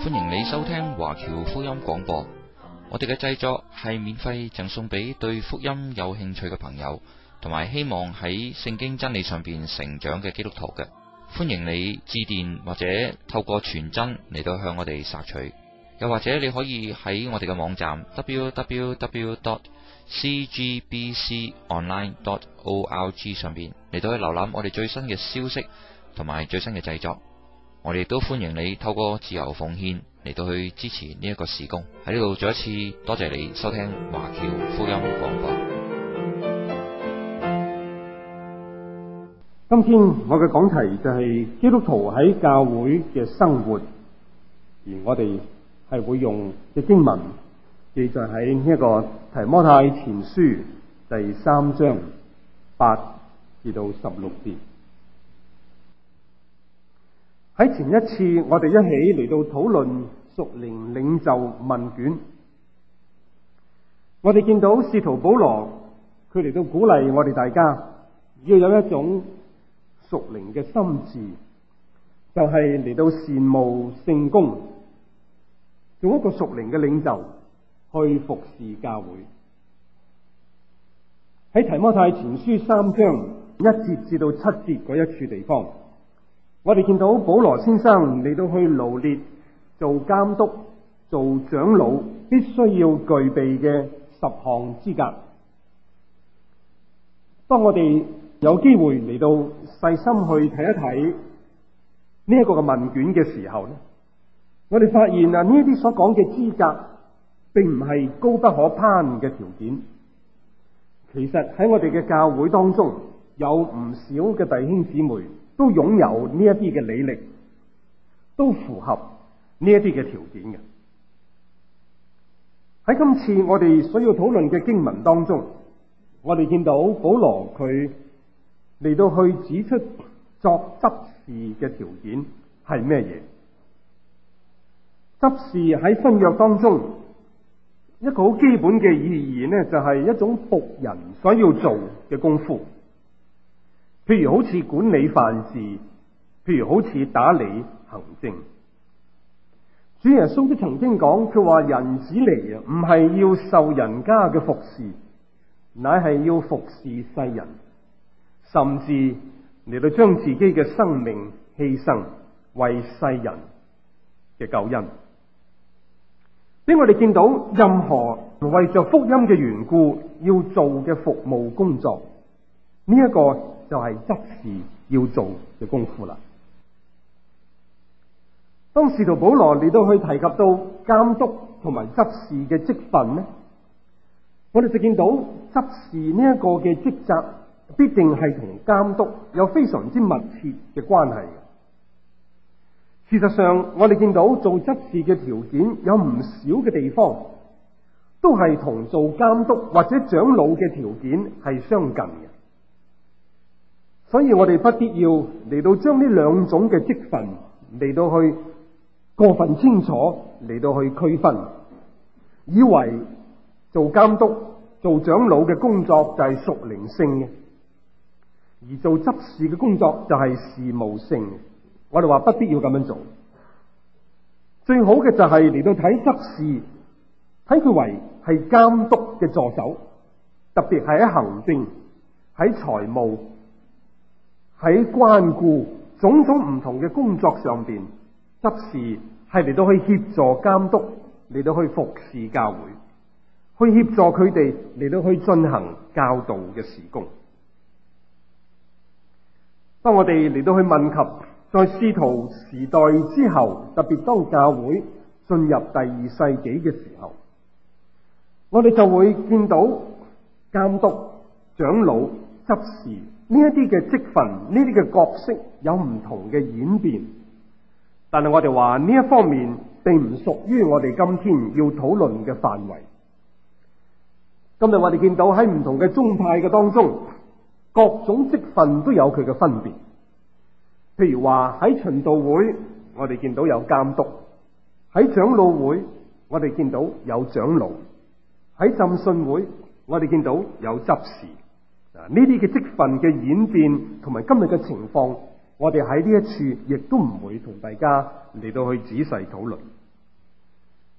歡迎你收聽華僑福音廣播。我哋嘅製作係免費贈送俾對福音有興趣嘅朋友，同埋希望喺聖經真理上邊成長嘅基督徒嘅。歡迎你致電或者透過傳真嚟到向我哋索取，又或者你可以喺我哋嘅網站 www.cgbconline.org 上邊嚟到去瀏覽我哋最新嘅消息同埋最新嘅製作。我哋都歡迎你透過自由奉獻嚟到去支持呢一個事工。喺呢度再一次多謝你收聽華僑福音廣播。 今天我嘅講題就係基督徒喺教會嘅生活，而我哋係會用嘅經文記載喺呢一個提摩太前書第3章8至到16節。喺前一次我哋一起嚟到討論屬靈領袖問卷，我哋見到使徒保羅佢嚟到鼓勵我哋大家要有一種屬靈嘅心志，就係嚟到羨慕聖工，做一個屬靈嘅領袖去服侍教會。喺提摩太前書3章1節至到7節嗰一處地方，我哋見到保羅先生嚟到去羅列做監督、做長老必須要具備嘅10項資格。當我哋有機會嚟到細心去睇一睇呢一個嘅問卷嘅時候咧，我哋發現啊，呢一啲所講嘅資格並唔係高不可攀嘅條件。其實喺我哋嘅教會當中，有唔少嘅弟兄姊妹都擁有呢一啲嘅履歷，都符合呢一啲嘅條件嘅。喺今次我哋所要討論嘅經文當中，我哋見到保羅佢嚟到去指出作執事嘅條件係咩嘢？執事喺新約當中一個好基本嘅意義呢，就係一種僕人所要做嘅功夫。譬如好似管理飯事，譬如好似打理行政。主耶穌都曾經講，佢話人子嚟啊，唔係要受人家嘅服侍，乃係要服侍世人，甚至嚟到將自己嘅生命犧牲，為世人嘅救恩。俾我哋見到任何為着福音嘅緣故要做嘅服務工作，呢一個就係執事要做嘅功夫啦。當使徒保羅嚟到去提及到監督同埋執事嘅職分呢，我哋就見到執事呢一個嘅職責必定係同監督有非常之密切嘅關係。事實上，我哋見到做執事嘅條件有唔少嘅地方都係同做監督或者長老嘅條件係相近嘅。所以我哋不必要嚟到將呢兩種嘅職分嚟到去過分清楚嚟到去區分，以為做監督、做長老嘅工作就係屬靈性嘅，而做執事嘅工作就係事務性嘅。我哋話不必要咁樣做，最好嘅就係嚟到睇執事，睇佢為係監督嘅助手，特別係喺行政、喺財務、喺關顧種種唔同嘅工作上邊，執事係嚟到去協助監督，嚟到去服侍教會，去協助佢哋嚟到去進行教導嘅事工。當我哋嚟到去問及在使徒時代之後，特別當教會進入第2世紀嘅時候，我哋就會見到監督、長老、執事呢一啲嘅職分，呢啲嘅角色有唔同嘅演變，但係我哋話呢一方面並唔屬於我哋今天要討論嘅範圍。今日我哋見到喺唔同嘅宗派嘅當中，各種職分都有佢嘅分別。譬如話喺循道會，我哋見到有監督；喺長老會，我哋見到有長老；喺浸信會，我哋見到有執事。呢啲嘅職分嘅演變同埋今日嘅情況，我哋喺呢一處亦都唔會同大家嚟到去仔細討論。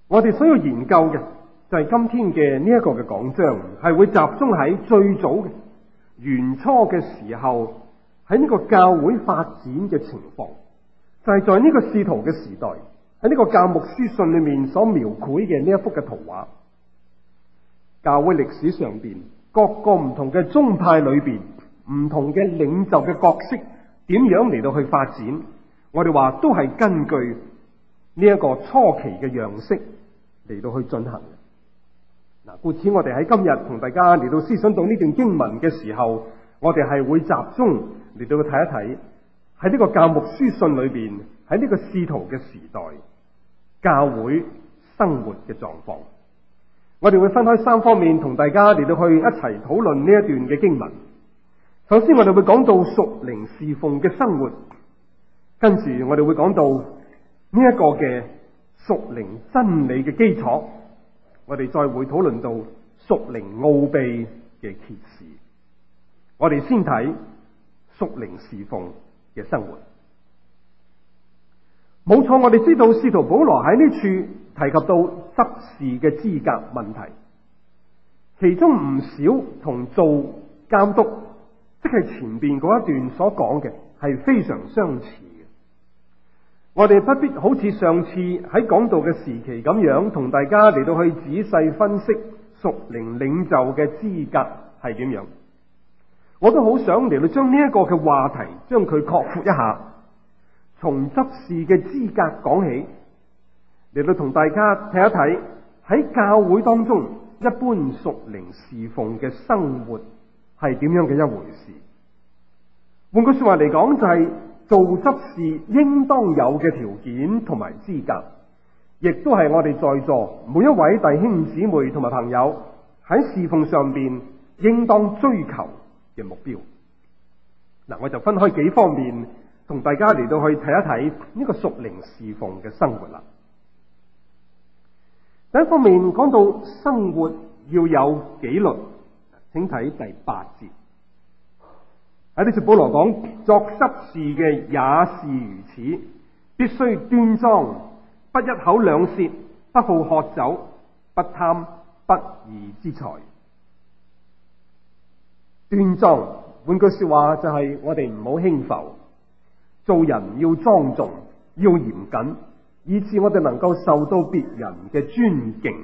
我哋所要研究嘅就係今天嘅呢一個嘅講章，係會集中喺最早嘅原初嘅時候，喺呢個教會發展嘅情況，就係在呢個使徒嘅時代，喺呢個教牧書信裏面所描繪嘅呢一幅嘅圖畫。教會歷史上邊各個唔同嘅宗派裏邊，唔同嘅領袖嘅角色點樣嚟到去發展，我哋話都係根據呢一個初期嘅樣式嚟到去進行嘅。嗱，故此我哋喺今日同大家嚟到思想到呢段經文嘅時候，我哋係會集中嚟到去睇一睇喺呢個教牧書信裏邊，喺呢個使徒嘅時代教會生活嘅狀況。我哋會分開三方面同大家嚟到去一齊討論呢一段嘅經文。首先我哋會講到屬靈侍奉嘅生活，跟住我哋會講到呢一個嘅屬靈真理嘅基礎，我哋再會討論到屬靈奧秘嘅揭示。我哋先睇屬靈侍奉嘅生活。冇錯，我哋知道使徒保羅喺呢處提及到執事嘅資格問題，其中唔少同做監督，即係前邊嗰一段所講嘅係非常相似嘅。我哋不必好似上次喺講道嘅時期咁樣，同大家嚟到去仔細分析屬靈領袖嘅資格係點樣。我都好想嚟到將呢一個嘅話題將佢擴闊一下，從執事嘅資格講起，嚟到同大家睇一睇喺教會當中一般屬靈侍奉嘅生活係點樣嘅一回事。換句說話嚟講，就係做執事應當有嘅條件同埋資格，亦都係我哋在座每一位弟兄姊妹同埋朋友喺侍奉上邊應當追求嘅目標。嗱，我就分開幾方面同大家嚟到去睇一睇呢個屬靈侍奉嘅生活啦。第一方面講到生活要有紀律，請睇第8節。喺呢處保羅講，作執事嘅也是如此，必須端莊，不一口兩舌，不好喝酒，不貪不義之財。端莊，換句說話就係我哋唔好輕浮，做人要莊重，要嚴謹，以致我哋能夠受到別人嘅尊敬。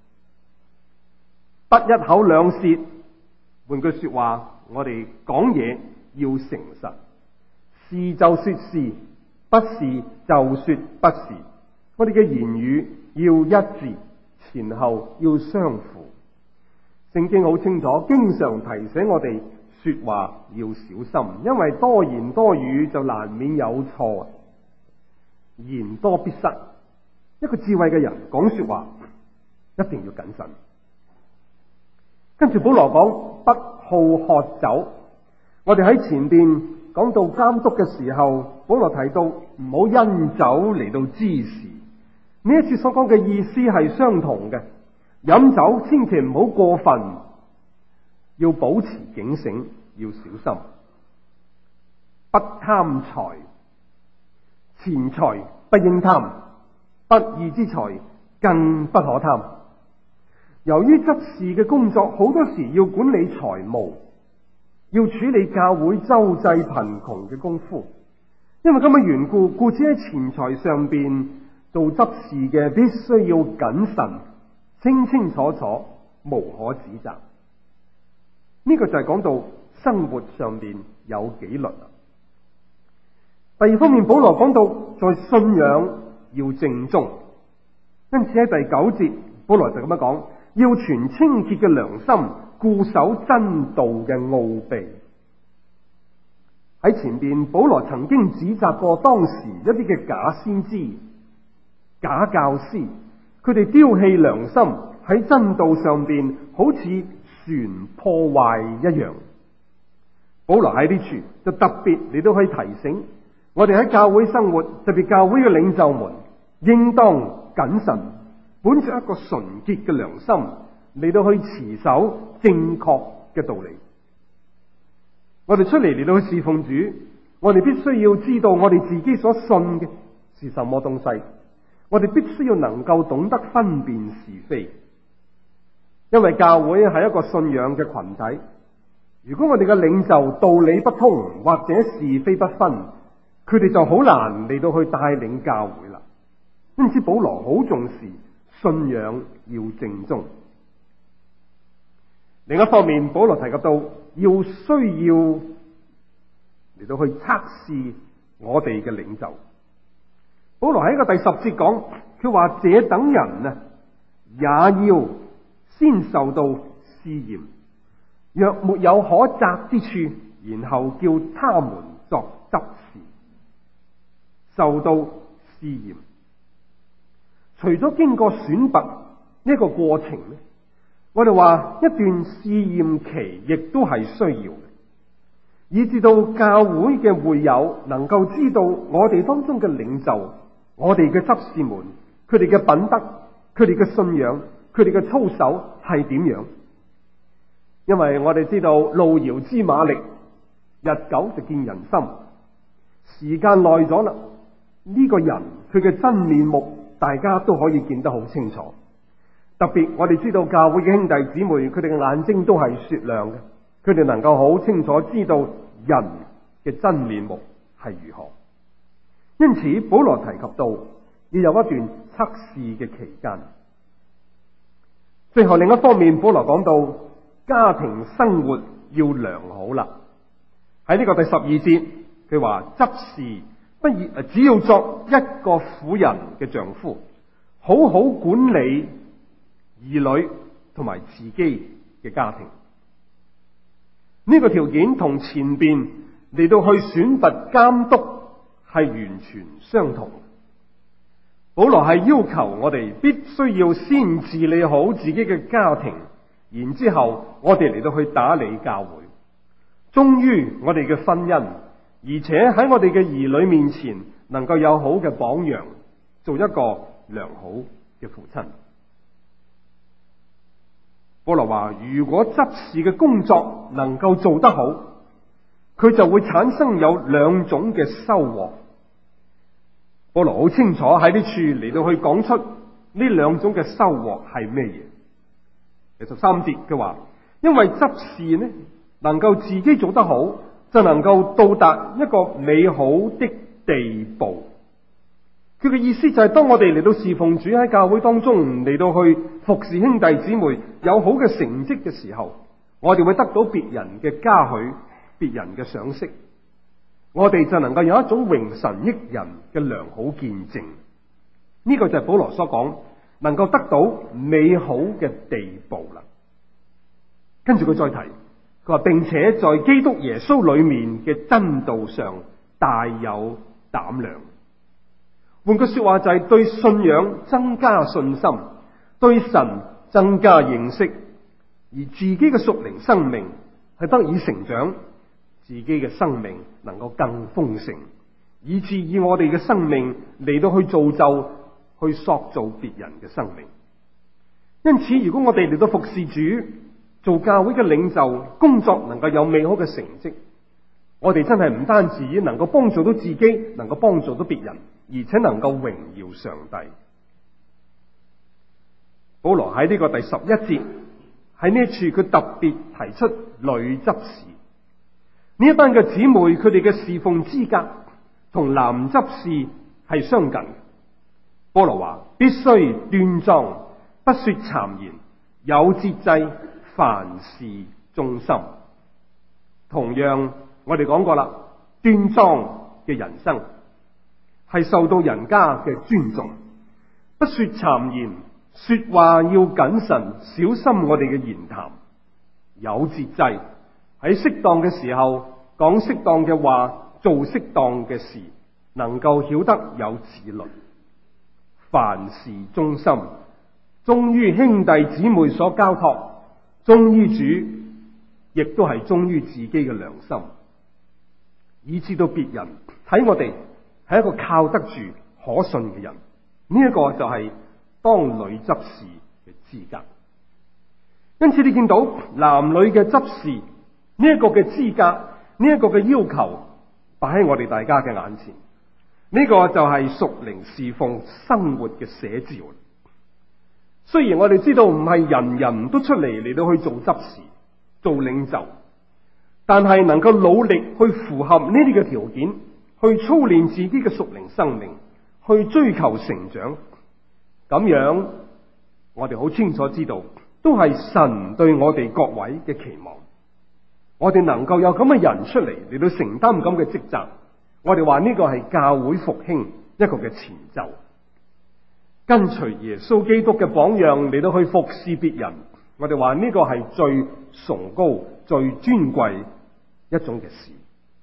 不一口兩舌，換句說話，我哋講嘢要誠實，是就說是，不是就說不是。我哋嘅言語要一致，前後要相符。聖經好清楚，經常提醒我哋說話要小心，因為多言多語就難免有錯，言多必失。一個智慧嘅人講說話一定要謹慎。跟住保羅講不好喝酒，我哋喺前邊講到監督嘅時候，保羅提到唔好因酒嚟到滋事。呢一次所講嘅意思係相同嘅，飲酒千祈唔好過分，要保持警醒，要小心。不貪財，錢財不應貪，不義之財更不可貪。由於執事嘅工作好多時要管理財務，要處理教會周濟貧窮嘅功夫，因為咁嘅緣故，故此喺錢財上邊做執事嘅必須要謹慎，清清楚楚，無可指責。呢個就係講到生活上邊有紀律。第二方面，保羅講到在信仰要正宗，因此喺第9節，保羅就咁樣講，要存清潔嘅良心，固守真道嘅奧秘。喺前邊，保羅曾經指責過當時一啲嘅假先知、假教師，佢哋丟棄良心，喺真道上邊好似船破壞一樣。保羅喺呢處就特別嚟到去提醒我哋喺教會生活，特別教會嘅領袖們，應當謹慎，本着一個純潔嘅良心嚟到去持守正確嘅道理。我哋出嚟到去侍奉主，我哋必須要知道我哋自己所信嘅是什麼東西， 我哋必須要能夠懂得分辨是非，因為教會係一個信仰嘅群體。如果我哋嘅領袖道理不通或者是非不分，佢哋就好難嚟到去帶領教會啦。因此保羅好重視信仰要正宗。另一方面，保羅提及到要需要嚟到去測試我哋嘅領袖。保羅喺個第10節講，佢話這等人啊，也要先受到試驗，若沒有可責之處，然後叫他們作執事。受到試驗，除咗經過選拔呢個過程咧，我哋話一段試驗期亦都係需要嘅，以至到教會嘅會友能夠知道我哋當中嘅領袖，我哋嘅執事們，佢哋嘅品德，佢哋嘅信仰，佢哋嘅操守係點樣。因為我哋知道路遙知馬力，日久就見人心，時間耐咗啦，呢個人佢嘅真面目大家都可以見得好清楚。特別我哋知道教會嘅兄弟姊妹，佢哋嘅眼睛都係雪亮嘅，佢哋能夠好清楚知道人嘅真面目係如何。因此保羅提及到要有一段測試嘅期間。最後另一方面，保羅講到家庭生活要良好啦。喺呢個第12節，佢話執事只要作一個婦人嘅丈夫，好好管理兒女同埋自己嘅家庭。呢個條件同前邊嚟到去選拔監督係完全相同。保羅係要求我哋必須要先治理好自己嘅家庭，然之後我哋嚟到去打理教會，忠於我哋嘅婚姻，而且喺我哋嘅兒女面前能夠有好嘅榜樣，做一個良好嘅父親。保羅話，如果執事嘅工作能夠做得好，佢就會產生有2種嘅收穫。保羅好清楚喺呢處嚟到去講出呢2種嘅收穫係咩嘢。第13節佢話，因為執事呢能夠自己做得好，就能夠到達一個美好的地步。佢嘅意思就係當我哋嚟到侍奉主，喺教會當中嚟到去服侍兄弟姊妹有好嘅成績嘅時候，我哋會得到別人嘅嘉許，別人嘅賞識，我哋就能夠有一種榮神益人嘅良好見證。呢個就係保羅所講能夠得到美好嘅地步啦。跟住佢再提，佢話並且在基督耶穌裏面嘅真道上大有膽量。換句說話就係對信仰增加信心，對神增加認識，而自己嘅屬靈生命係得以成長，自己嘅生命能夠更豐盛，以至以我哋嘅生命嚟到去造就，去塑造別人嘅生命。因此如果我哋嚟到服侍主，做教會嘅領袖，工作能夠有美好嘅成績，我哋真係唔單止能夠幫助到自己，能夠幫助到別人，而且能夠榮耀上帝。保羅喺呢個第11節喺呢一處佢特別提出女執事。呢一班嘅姊妹，佢哋嘅侍奉資格同男執事係相近。保羅話必須端莊，不說讒言，有節制，凡事忠心。同樣我哋講過啦，端莊嘅人生係受到人家嘅尊重，不說讒言，說話要謹慎，小心我哋嘅言談，有節制，喺適當嘅時候講適當嘅話，做適當嘅事，能夠曉得有自律，凡事忠心，忠於兄弟姊妹所交託，忠於主，亦都係忠於自己嘅良心，以致到別人睇我哋係一個靠得住可信嘅人。呢一個就係當女執事嘅資格。因此你見到男女嘅執事呢一個嘅資格，呢一個嘅要求擺喺我哋大家嘅眼前。 呢個就係屬靈侍奉生活嘅寫照。雖然我哋知道唔係人人都出嚟到去做執事、做領袖，但係能夠努力去符合呢啲嘅條件，去操練自己嘅屬靈生命，去追求成長，咁樣我哋好清楚知道，都係神對我哋各位嘅期望。我哋能夠有咁嘅人出嚟到承擔咁嘅職責，我哋話呢個係教會復興一個嘅前奏。跟隨耶穌基督嘅榜樣嚟到去服侍別人，我哋話呢個係最崇高、最尊貴一種嘅事。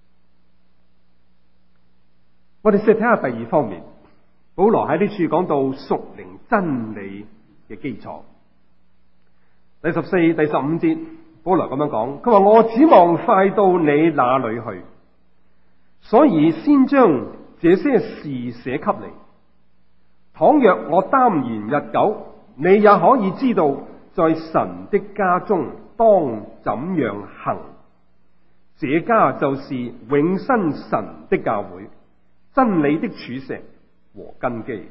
我哋試睇下第二方面，保羅喺呢處講到屬靈真理嘅基礎。第14、第15節，保羅咁樣講，佢話我指望快到你那裏去，所以先將這些事寫給你。倘若我耽延日久，你也可以知道在神的家中當怎樣行。這家就是永生神的教會，真理的柱石和根基。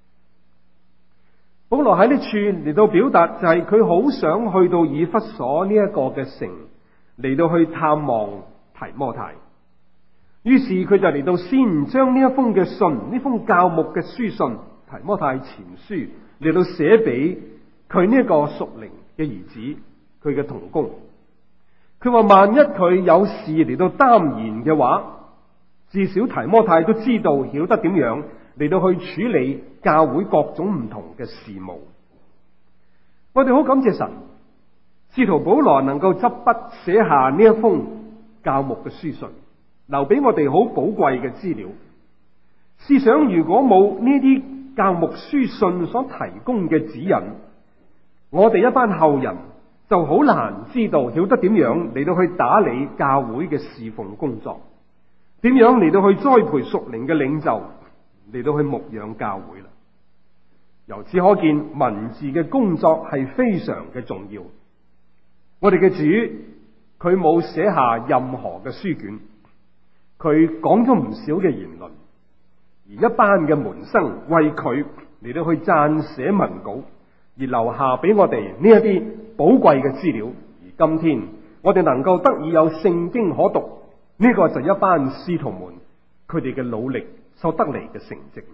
保羅喺呢處嚟到表達，就係佢好想去到以弗所呢一個嘅城嚟到去探望提摩太。於是佢就嚟到先將呢一封嘅信，呢封教牧嘅書信提摩太前書嚟到寫俾佢呢一個屬靈嘅兒子，佢嘅同工。佢話萬一佢有事嚟到耽延嘅話，至少提摩太都知道曉得點樣嚟到去處理教會各種唔同嘅事務。我哋好感謝神，使徒保羅能夠執筆寫下呢一封教牧嘅書信，留俾我哋好寶貴嘅資料。試想如果冇呢啲教牧書信所提供嘅指引，我哋一班後人就好難知道曉得點樣嚟到去打理教會嘅侍奉工作，點樣嚟到去栽培屬靈嘅領袖，嚟到去牧養教會啦。由此可見，文字嘅工作係非常嘅重要。我哋嘅主佢冇寫下任何嘅書卷，佢講咗唔少嘅言論，而一班嘅門生為佢嚟到去撰寫文稿，而留下俾我哋呢一啲寶貴嘅資料。而今天我哋能夠得以有聖經可讀，呢個就係一班使徒們佢哋嘅努力所得嚟嘅成績啦。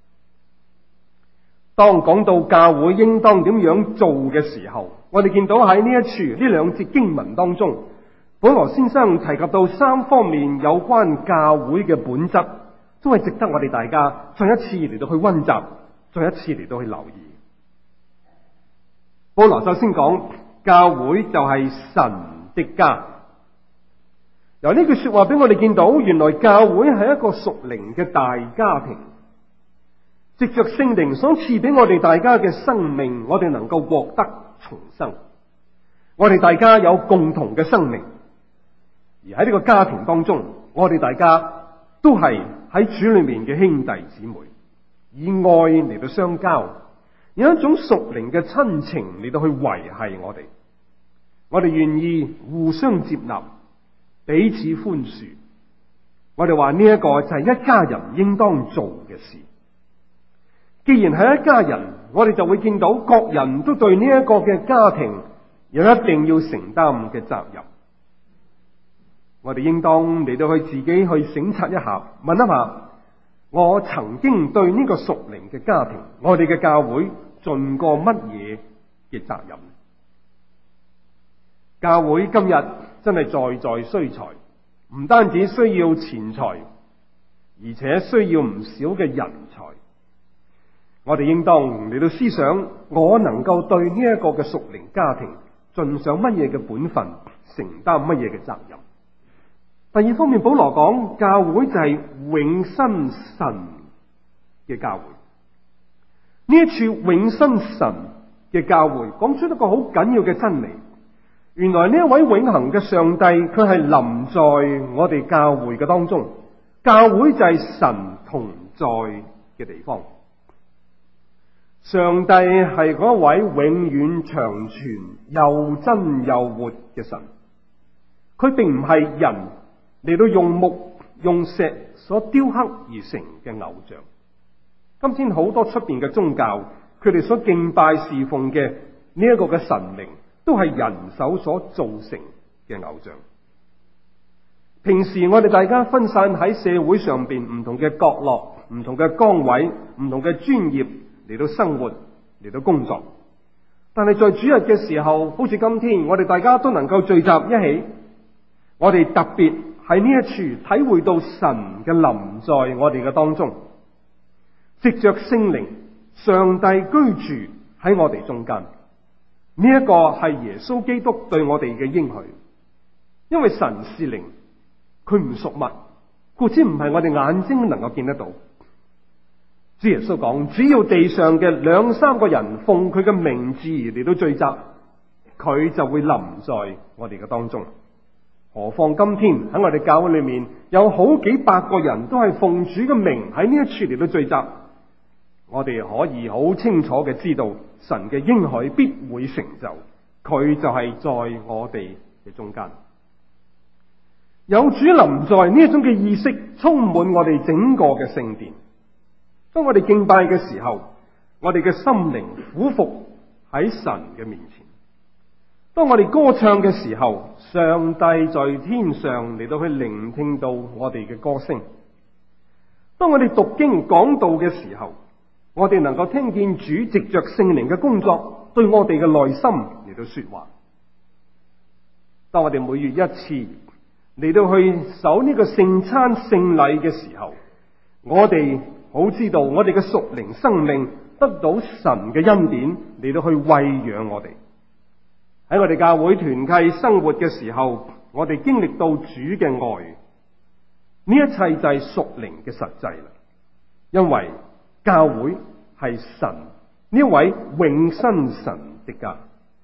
當講到教會應當點樣做嘅時候，我哋見到喺呢一處呢兩節經文當中，保羅先生提及到三方面有關教會嘅本質，都係值得我哋大家再一次嚟到去溫習，再一次嚟到去留意。保羅首先講教會就係神的家。由呢句說話俾我哋見到，原來教會係一個屬靈嘅大家庭，藉着聖靈所賜俾我哋大家嘅生命，我哋能夠獲得重生。我哋大家有共同嘅生命，而喺呢個家庭當中，我哋大家都係喺主裏面嘅兄弟姊妹，以愛嚟到相交，有一種屬靈嘅親情嚟到去維繫我哋。我哋願意互相接納，彼此寬恕。我哋話呢一個就係一家人應當做嘅事。既然係一家人，我哋就會見到各人都對呢一個嘅家庭有一定要承擔嘅責任。我哋應當嚟到去自己去省察一下，問一下，我曾經對呢個屬靈嘅家庭，我哋嘅教會盡過乜嘢嘅責任？教會今日真係在在需財，唔單止需要錢財，而且需要唔少嘅人才。我哋應當嚟到思想，我能夠對呢一個嘅屬靈家庭盡上乜嘢嘅本分，承擔乜嘢嘅責任。第二方面，保羅講教會就係永生神嘅教會。呢一處永生神嘅教會講出一個好緊要嘅真理，原來呢一位永恆嘅上帝，佢係臨在我哋教會嘅當中。教會就係神同在嘅地方。上帝係嗰位永遠長存又真又活嘅神，佢並唔係人嚟到用木用石所雕刻而成嘅偶像。今天好多出邊嘅宗教，佢哋所敬拜侍奉嘅呢一個嘅神明，都係人手所造成嘅偶像。平時我哋大家分散喺社會上邊唔同嘅角落、唔同嘅崗位、唔同嘅專業嚟到生活、嚟到工作。但係在主日嘅時候，好似今天，我哋大家都能夠聚集一起，我哋特別喺呢一處體會到神嘅臨在我哋嘅當中，藉着聖靈，上帝居住喺我哋中間。呢一個係耶穌基督對我哋嘅應許，因為神是靈，佢唔屬物，故此唔係我哋眼睛能夠見得到。主耶穌講，只要地上嘅2-3個人奉佢嘅名字嚟到聚集，佢就會臨在我哋嘅當中。何況今天喺我哋教會裏面有好幾百個人都係奉主嘅名喺呢一處嚟到聚集，我哋可以好清楚嘅知道神嘅應許必會成就，佢就係在我哋嘅中間。有主臨在呢一種嘅意識充滿我哋整個嘅聖殿。當我哋敬拜嘅時候，我哋嘅心靈俯伏喺神嘅面前。當我哋歌唱嘅時候，上帝在天上嚟到去聆聽到我哋嘅歌聲。當我哋讀經講道嘅時候，我哋能夠聽見主藉着聖靈嘅工作對我哋嘅內心嚟到說話。當我哋每月一次嚟到去守呢個聖餐聖禮嘅時候，我哋好知道我哋嘅屬靈生命得到神嘅恩典嚟到去餵養我哋。喺我哋教會團契生活嘅時候，我哋經歷到主嘅愛，呢一切就係屬靈嘅實際啦。因為教會係神呢位永生神的家。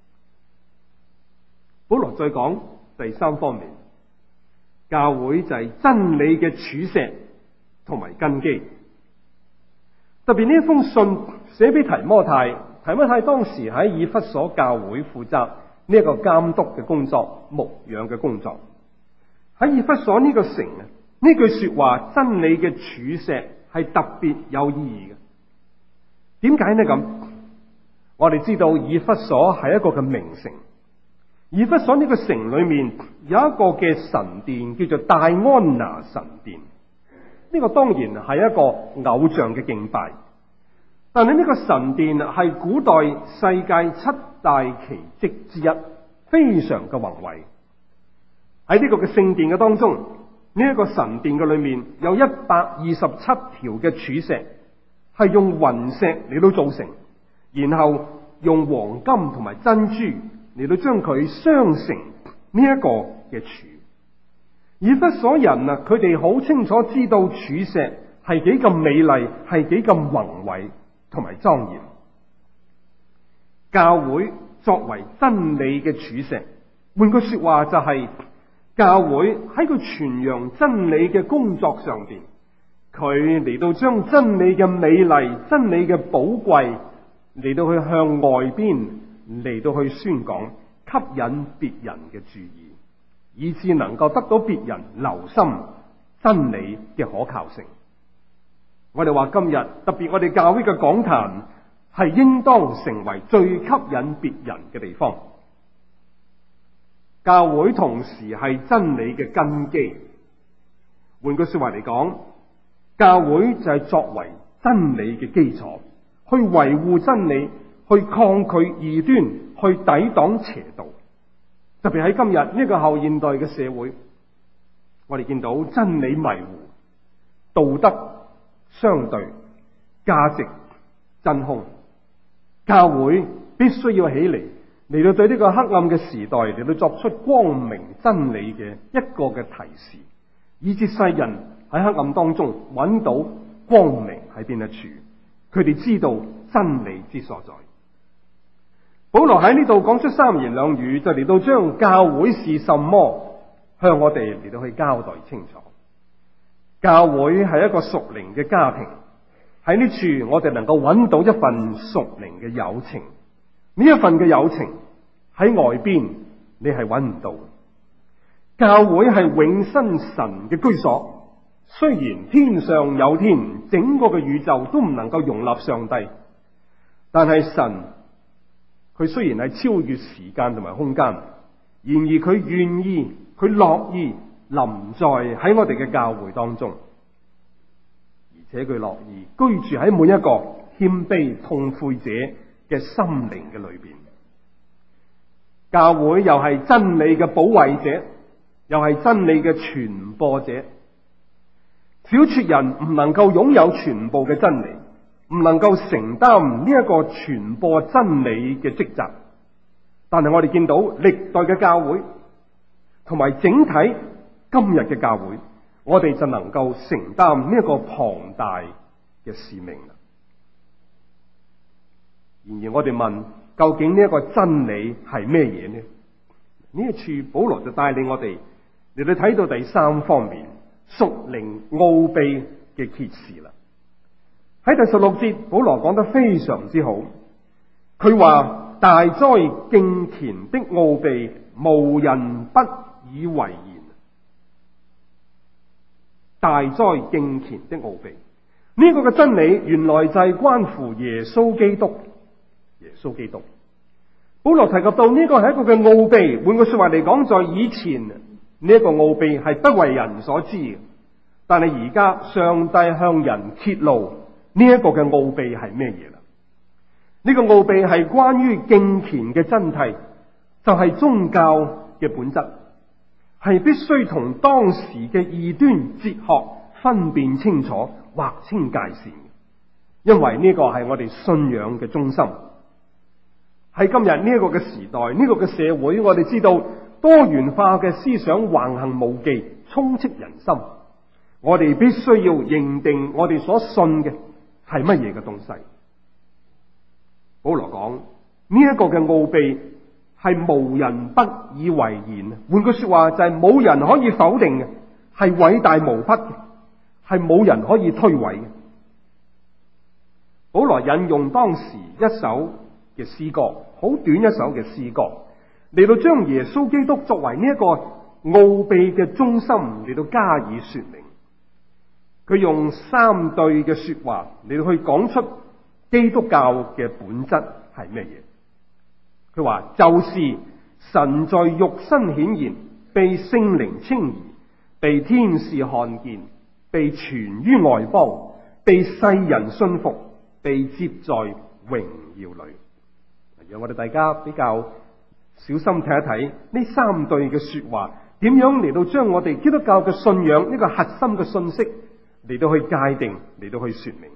保羅再講第三方面，教會就係真理嘅柱石同埋根基。特別呢一封信寫俾提摩太，提摩太當時喺以弗所教會負責呢一個監督嘅工作、牧養嘅工作。喺以弗所呢個城啊，呢句說話真理嘅柱石係特別有意義嘅。點解呢？咁我哋知道以弗所係一個嘅名城，以弗所呢個城裏面有一個嘅神殿叫做戴安拿神殿。呢個當然係一個偶像嘅敬拜，但係呢個神殿係古代世界7大奇蹟之一，非常嘅宏偉。喺呢個嘅聖殿嘅當中，呢一個神殿嘅裏面有127條嘅柱石，係用雲石嚟到造成，然後用黃金同埋珍珠嚟到將佢鑲成呢一個嘅柱。以弗所人啊，佢哋好清楚知道柱石係幾咁美麗，係幾咁宏偉同埋莊嚴。教會作為真理嘅柱石，換句說話就係教會喺佢傳揚真理嘅工作上邊，佢嚟到將真理嘅美麗、真理嘅寶貴嚟到去向外邊嚟到去宣講，吸引別人嘅注意，以致能夠得到別人留心真理嘅可靠性。我哋話今日特別我哋教會嘅講壇係應當成為最吸引別人嘅地方。教會同時係真理嘅根基。換句說話嚟講，教會就係作為真理嘅基礎，去維護真理，去抗拒異端，去抵擋邪道。特別喺今日呢個後現代嘅社會，我哋見到真理迷糊，道德相對，價值真空。教會必須要起嚟到對呢個黑暗嘅時代嚟到作出光明真理嘅一個嘅提示，以致世人喺黑暗當中揾到光明喺邊一處，佢哋知道真理之所在。保羅喺呢度講出3言2語，就嚟到將教會是什麼向我哋嚟到去交代清楚。教會係一個屬靈嘅家庭，喺呢處我哋能夠揾到一份屬靈嘅友情。呢一份嘅友情喺外邊你係揾唔到。教會係永生神嘅居所， 雖然天上有天，整個嘅宇宙都唔能夠容納上帝，但係神佢雖然係超越時間同埋空間，然而佢願意，佢樂意臨在喺我哋嘅教會當中，而且佢樂意居住喺每一個謙卑痛悔者嘅心靈嘅裏邊。教會又係真理嘅保衛者，又係真理嘅傳播者。小撮人唔能夠擁有全部嘅真理，唔能夠承擔呢一個傳播真理嘅職責。但係我哋見到歷代嘅教會同埋整體今日嘅教會，我哋就能夠承擔呢一個龐大嘅使命啦。然而我哋問，究竟呢一個真理係咩嘢呢？呢一處保羅就帶領我哋嚟到睇到第三方面，屬靈奧秘嘅揭示啦。喺第16節，保羅講得非常之好，佢話大哉敬虔的奧秘，無人不以為然。大哉敬虔的奧秘，呢個嘅真理原來就係關乎耶穌基督。耶穌基督，保羅提及到呢個係一個嘅奧秘。換句說話嚟講，在以前呢一個奧秘係不為人所知嘅，但係而家上帝向人揭露呢一個嘅奧秘係咩嘢啦？呢個奧秘係關於敬虔嘅真諦，就係宗教嘅本質，係必須同當時嘅異端哲學分辨清楚，劃清界線，因為呢個係我哋信仰嘅中心。喺今日呢一個嘅時代，呢個嘅社會，我哋知道多元化嘅思想橫行無忌，充斥人心。我哋必須要認定我哋所信嘅係乜嘢嘅東西。保羅講呢一個嘅奧秘係無人不以為然。換句說話就係冇人可以否定嘅，係偉大無匹嘅，係冇人可以推諉嘅。保羅引用當時一首嘅詩歌，好短一首嘅詩歌，嚟到將耶穌基督作為呢一個奧秘嘅中心嚟到加以說明。佢用三對嘅說話嚟到去講出基督教嘅本質係咩嘢。佢話就是神在肉身顯現，被聖靈稱義，被天使看見，被傳於外邦，被世人信服，被接在榮耀裏。讓我哋大家比較小心睇一睇呢三對嘅說話，點樣嚟到將我哋基督教嘅信仰呢個核心嘅信息嚟到去界定，嚟到去說明。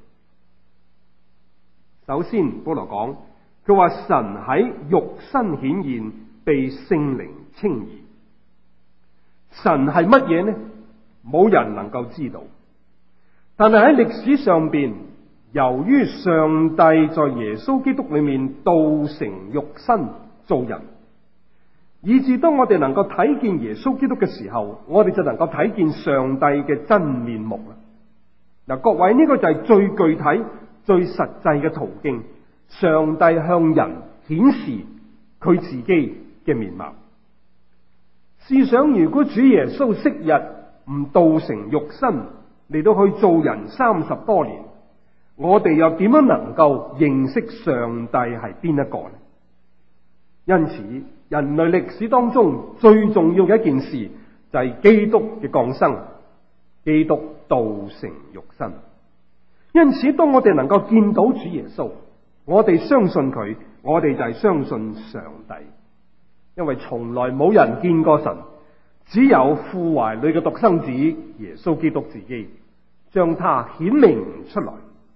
首先，保羅講，佢話神喺肉身顯現，被聖靈稱義。神係乜嘢呢？冇人能夠知道。但係喺歷史上邊，由於上帝在耶穌基督裏面道成肉身做人，以致當我哋能夠睇見耶穌基督嘅時候，我哋就能夠睇見上帝嘅真面目啦。嗱，各位，呢個就係最具體、最實際嘅途徑，上帝向人顯示佢自己嘅面貌。試想，如果主耶穌昔日唔道成肉身嚟到去做人30多年，我哋又點樣能夠認識上帝係邊一個呢？因此，人類歷史當中最重要嘅一件事就係基督嘅降生，基督道成肉身。因此，當我哋能夠見到主耶穌，我哋相信佢，我哋就係相信上帝。因為從來冇人見過神，只有父懷裏嘅獨生子耶穌基督自己將他顯明出來。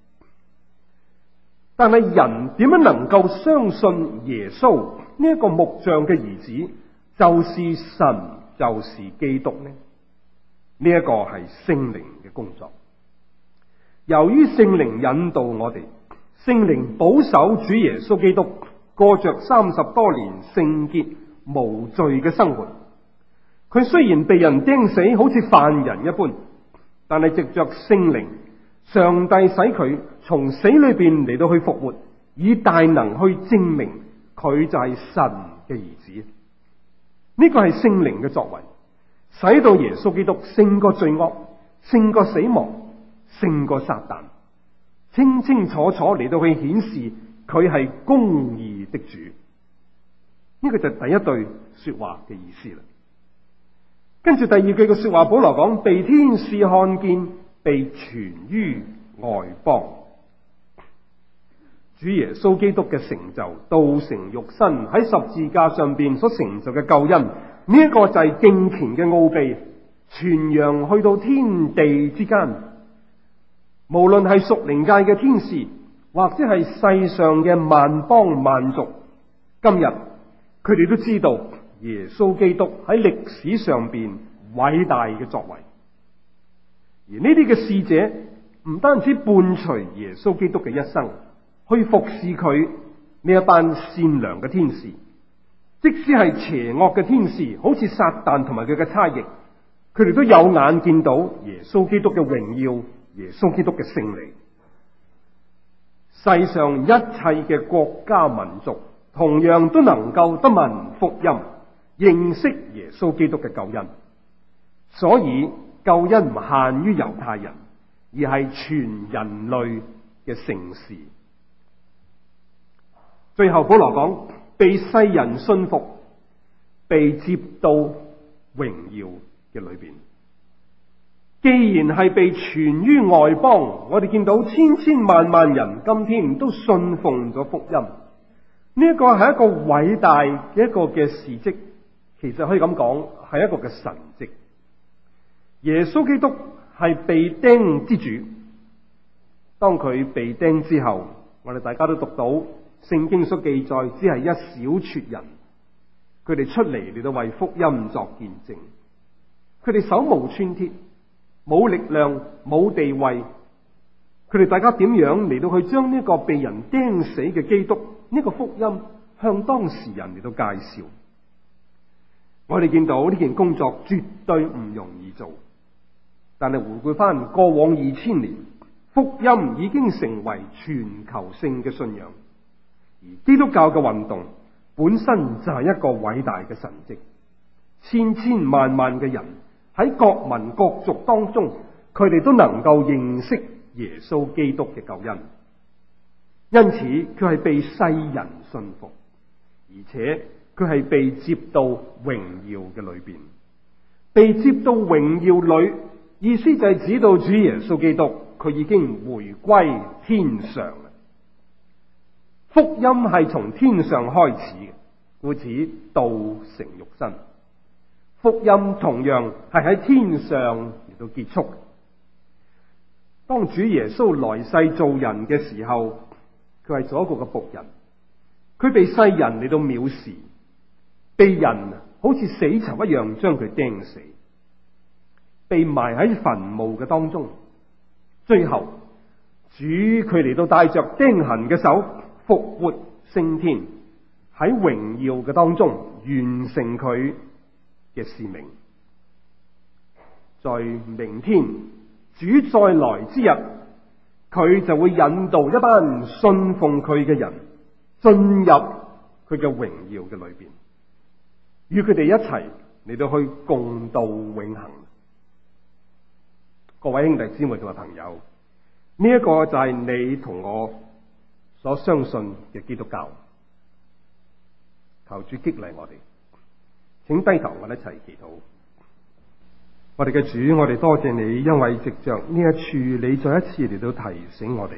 但係人點樣能夠相信耶穌呢一個木匠嘅兒子就是神，就是基督呢？呢一個係聖靈嘅工作。由於聖靈引導我哋，聖靈保守主耶穌基督過着30多年聖潔無罪嘅生活。佢雖然被人釘死，好似犯人一般，但係藉着聖靈，上帝使佢從死裏邊嚟到去復活，以大能去證明佢就係神嘅兒子。呢個係聖靈嘅作為，使到耶穌基督勝過罪惡， 勝過死亡，勝過撒旦，清清楚楚嚟到去顯示佢係公義的主。呢個就係第一句說話嘅意思啦。跟住第二句嘅說話，保羅講被天使看見，被傳於外邦。主耶穌基督嘅成就，道成肉身喺十字架上邊所成就嘅救恩，呢一個就係敬虔嘅奧秘，傳揚去到天地之間。無論係屬靈界嘅天使，或者係世上嘅萬邦萬族，今日佢哋都知道耶穌基督喺歷史上邊偉大嘅作為。而呢啲嘅使者唔單止伴隨耶穌基督嘅一生，去服侍佢呢一班善良嘅天使，即使係邪惡嘅天使，好似撒旦同埋佢嘅差役，佢哋都有眼見到耶穌基督嘅榮耀，耶穌基督嘅勝利。世上一切嘅國家民族同樣都能夠得聞福音，認識耶穌基督嘅救恩。所以救恩唔限於猶太人，而係全人類嘅盛事。最後保羅講，被世人信服，被接到榮耀嘅裏邊。既然係被傳於外邦，我哋見到千千萬萬人今天都信奉咗福音，呢一個係一個偉大嘅一個嘅事蹟，其實可以咁講，係一個嘅神蹟。耶穌基督係被釘之主，當佢被釘之後，我哋大家都讀到聖經所記載，只係一小撮人，佢哋出嚟到為福音作見證，佢哋手無寸鐵，冇力量，冇地位，佢哋大家點樣嚟到去將呢個被人釘死嘅基督呢個福音向當時人嚟到介紹？我哋見到呢件工作絕對唔容易做，但係回顧翻過往2000年，福音已經成為全球性嘅信仰，而基督教嘅運動本身就係一個偉大嘅神蹟，千千萬萬嘅人喺各民各族當中，佢哋都能夠認識耶穌基督嘅救恩，因此佢係被世人信服，而且佢係被接到榮耀嘅裏邊。被接到榮耀裏，意思就係指到主耶穌基督，佢已經回歸天上。福音係從天上開始嘅，故此道成肉身。福音同樣係喺天上嚟到結束。當主耶穌來世做人嘅時候，佢係做一個嘅僕人，佢被世人嚟到藐視，被人好似死囚一樣將佢釘死，被埋喺墳墓嘅當中。最後主佢嚟到帶着釘痕嘅手復活升天，喺榮耀嘅當中完成佢嘅使命。在明天主再來之日，佢就會引導一班信奉佢嘅人進入佢嘅榮耀嘅裏邊，與佢哋一齊嚟到去共度永恆。各位兄弟姊妹同埋朋友，呢一個就係你同我所相信嘅基督教。求主激勵我哋，請低頭，我哋一齊祈禱。我哋嘅主，我哋多謝你，因為藉着呢一處，你再一次嚟到提醒我哋，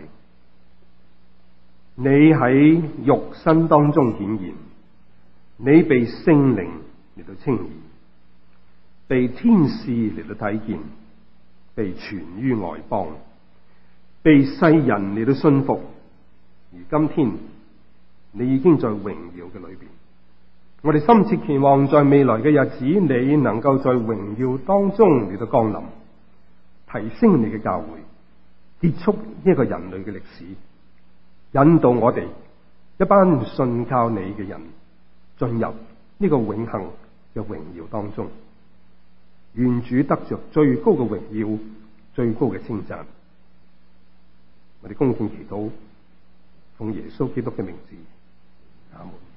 你喺肉身當中顯現，你被聖靈嚟到稱義，被天使嚟到睇見，被傳於外邦，被世人嚟到信服，而今天你已經在榮耀嘅裏邊。我哋深切期望在未來嘅日子，你能夠在榮耀當中嚟到降臨，提升你嘅教會，結束呢個人類嘅歷史，引導我哋一班信靠你嘅人進入呢個永恆嘅榮耀當中。願主得着最高嘅榮耀，最高嘅稱讚。我哋恭敬祈禱，奉耶穌基督嘅名字，阿門。